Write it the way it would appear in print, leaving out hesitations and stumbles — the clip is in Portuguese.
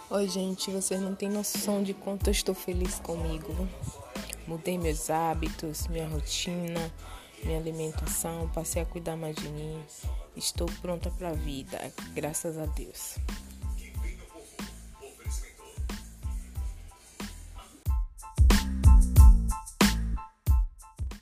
Oi, gente, vocês não têm noção de quanto eu estou feliz comigo. Mudei meus hábitos, minha rotina, minha alimentação, passei a cuidar mais de mim. Estou pronta para a vida, graças a Deus.